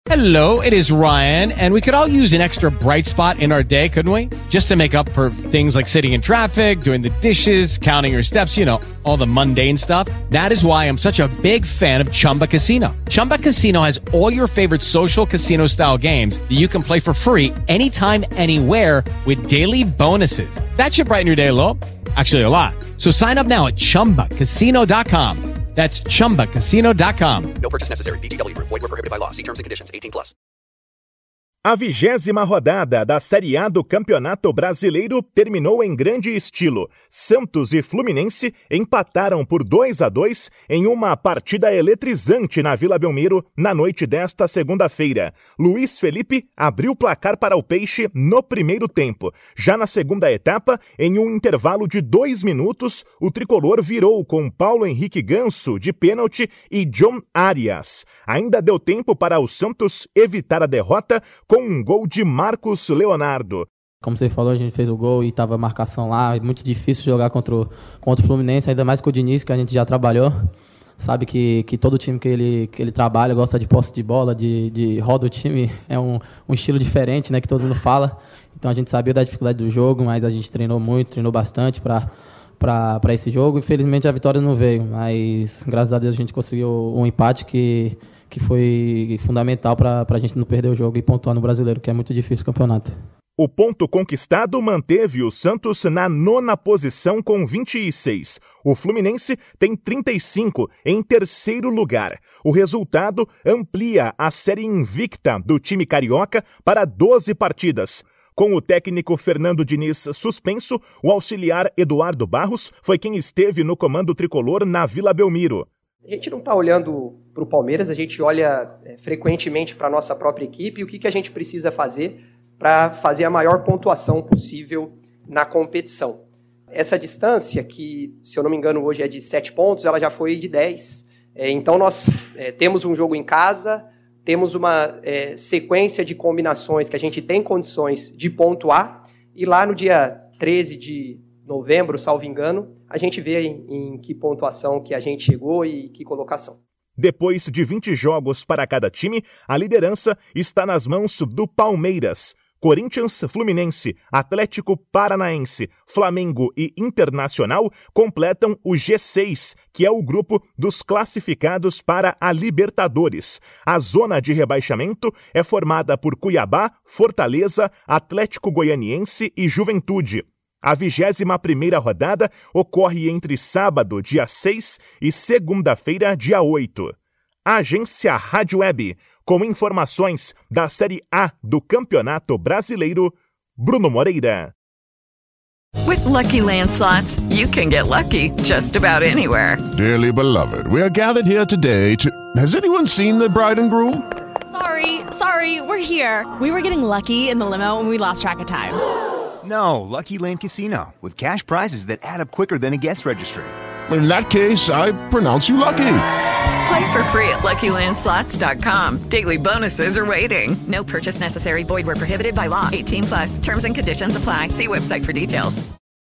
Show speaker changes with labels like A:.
A: Hello, it is Ryan, and we could all use an extra bright spot in our day, couldn't we? Just to make up for things like sitting in traffic, doing the dishes, counting your steps, you know, all the mundane stuff. That is why I'm such a big fan of Chumba Casino. Chumba Casino has all your favorite social casino-style games that you can play for free anytime, anywhere with daily bonuses. That should brighten your day a little. Actually, a lot. So sign up now at ChumbaCasino.com. That's ChumbaCasino.com.
B: No purchase necessary. VGW Group. Void where prohibited by law. See terms and conditions. 18+.
C: A 20ª rodada da Série A do Campeonato Brasileiro terminou em grande estilo. Santos e Fluminense empataram por 2-2 em uma partida eletrizante na Vila Belmiro na noite desta segunda-feira. Luiz Felipe abriu o placar para o Peixe no primeiro tempo. Já na segunda etapa, em um intervalo de 2 minutos, o tricolor virou com Paulo Henrique Ganso de pênalti e John Arias. Ainda deu tempo para o Santos evitar a derrota com um gol de Marcos Leonardo.
D: Como você falou, a gente fez o gol e estava a marcação lá. É muito difícil jogar contra o Fluminense, ainda mais com o Diniz, que a gente já trabalhou. Sabe que todo time que ele trabalha gosta de posse de bola, de roda o time. É um estilo diferente, né, que todo mundo fala. Então a gente sabia da dificuldade do jogo, mas a gente treinou bastante para esse jogo. Infelizmente a vitória não veio, mas graças a Deus a gente conseguiu um empate que foi fundamental para a gente não perder o jogo e pontuar no Brasileiro, que é muito difícil o campeonato.
C: O ponto conquistado manteve o Santos na 9ª posição com 26. O Fluminense tem 35 em terceiro lugar. O resultado amplia a série invicta do time carioca para 12 partidas. Com o técnico Fernando Diniz suspenso, o auxiliar Eduardo Barros foi quem esteve no comando tricolor na Vila Belmiro.
E: A gente não está olhando para o Palmeiras, a gente olha frequentemente para a nossa própria equipe e o que a gente precisa fazer para fazer a maior pontuação possível na competição. Essa distância, que se eu não me engano hoje é de 7 pontos, ela já foi de 10. Então nós temos um jogo em casa, temos uma sequência de combinações que a gente tem condições de pontuar e lá no dia 13 de novembro, salvo engano, a gente vê em que pontuação que a gente chegou e que colocação.
C: Depois de 20 jogos para cada time, a liderança está nas mãos do Palmeiras. Corinthians, Fluminense, Atlético Paranaense, Flamengo e Internacional completam o G6, que é o grupo dos classificados para a Libertadores. A zona de rebaixamento é formada por Cuiabá, Fortaleza, Atlético Goianiense e Juventude. A 21ª rodada ocorre entre sábado, dia 6, e segunda-feira, dia 8. Agência Rádio Web, com informações da Série A do Campeonato Brasileiro, Bruno Moreira.
F: With Lucky Land Slots, you can get lucky just about anywhere.
G: Dearly beloved, we are gathered here today to... Has anyone seen the bride and groom?
H: Sorry, we're here. We were getting lucky in the limo and we lost track of time.
I: No, Lucky Land Casino, with cash prizes that add up quicker than a guest registry.
G: In that case, I pronounce you lucky.
F: Play for free at LuckyLandSlots.com. Daily bonuses are waiting. No purchase necessary. Void where prohibited by law. 18+. Terms and conditions apply. See website for details.